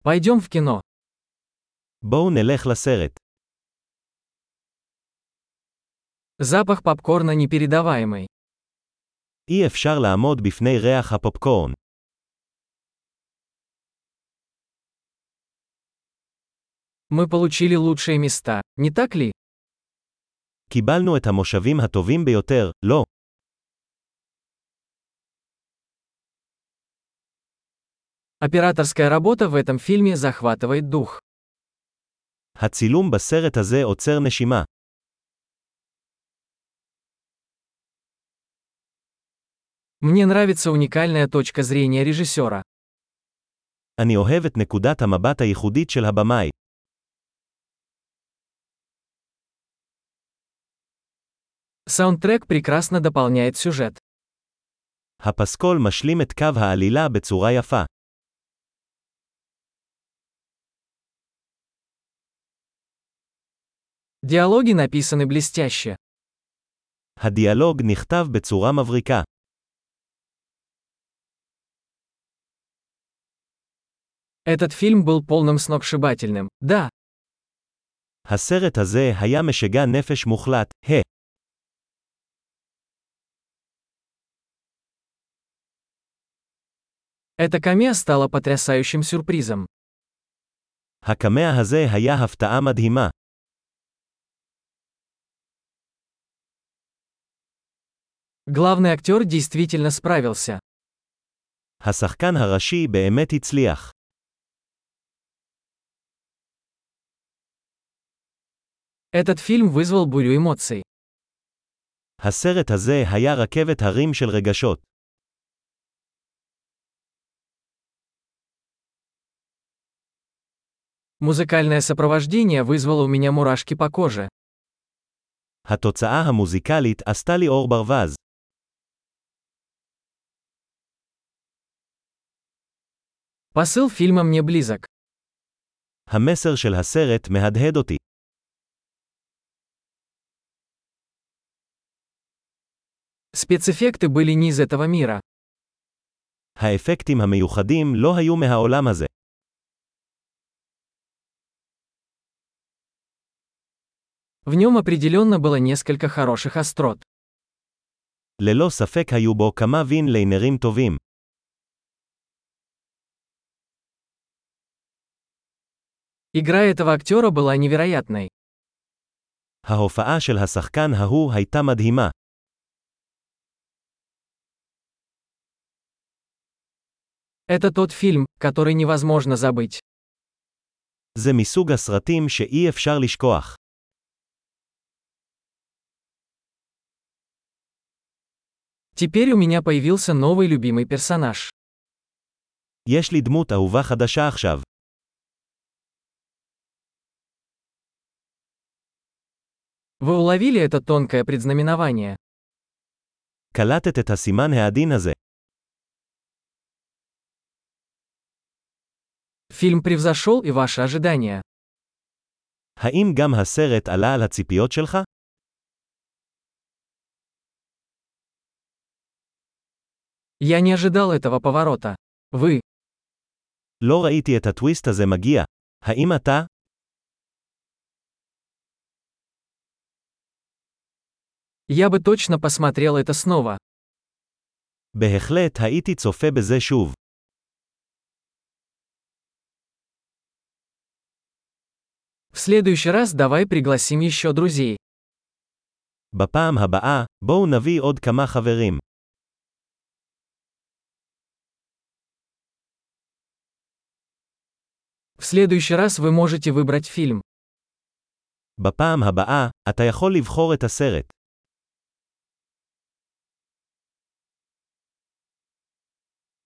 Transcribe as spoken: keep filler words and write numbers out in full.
Пойдем в кино. בואו נלך לסרט. Запах попкорна непередаваемый. אי אפשר לעמוד בפני ריח הפופקורן. Мы получили лучшие места, не так ли? קיבלנו את המושבים הטובים ביותר, לא. Операторская работа в этом фильме захватывает дух. הצילום בסרט הזה עוצר נשימה. Мне нравится уникальная точка зрения режиссера. אני אוהב את נקודת המבט הייחודית של הבמאי. Саундтрек прекрасно дополняет сюжет. הפסקול משלים את קו העלילה בצורה יפה. Диалоги написаны блестяще. הדיאלוג נכתב בצורה מבריקה. Этот фильм был полным сногсшибательным, да. הסרט הזה היה משגע נפש מוחלט, ה. Эта камео стала потрясающим сюрпризом. הקמע הזה היה הפתעה מדהימה. Главный актер действительно справился. השחקן הראשי באמת הצליח. Этот фильм вызвал бурю эмоций. הסרט הזה היה רכבת הרים של רגשות. Музыкальное сопровождение вызвало у меня мурашки по коже. התוצאה המוזיקלית עשתה לי אור ברווז. Посыл фильма мне близок. המסר של הסרט מהדהד אותי. Спецэффекты были не из этого мира. האפקטים המיוחדים לא היו מהעולם הזה. В нем определенно было несколько хороших острот. ללא ספק היו בו כמה וין ליינרים טובים. Игра этого актера была невероятной. ההופעה של השחקן ההוא הייתה מדהימה. Это тот фильм, который невозможно забыть. זה מסוג הסרטים שאי אפשר לשכוח. Теперь у меня появился новый любимый персонаж. יש לי דמות אהובה חדשה עכשיו. Вы уловили это тонкое предзнаменование? קלטת את הסימן העדין הזה. Фильм превзошел и ваши ожидания. האם גם הסרט עלה על הציפיות שלך? Я не ожидал этого поворота. Вы. לא ראיתי את הטוויסט הזה מגיע. האם אתה? Я бы точно посмотрел это снова. בהחלט הייתי צופה בזה שוב. В следующий раз давай пригласим еще друзей. בפעם הבאה, בואו נביא עוד כמה חברים. В следующий раз вы можете выбрать фильм. בפעם הבאה, אתה יכול לבחור את הסרט.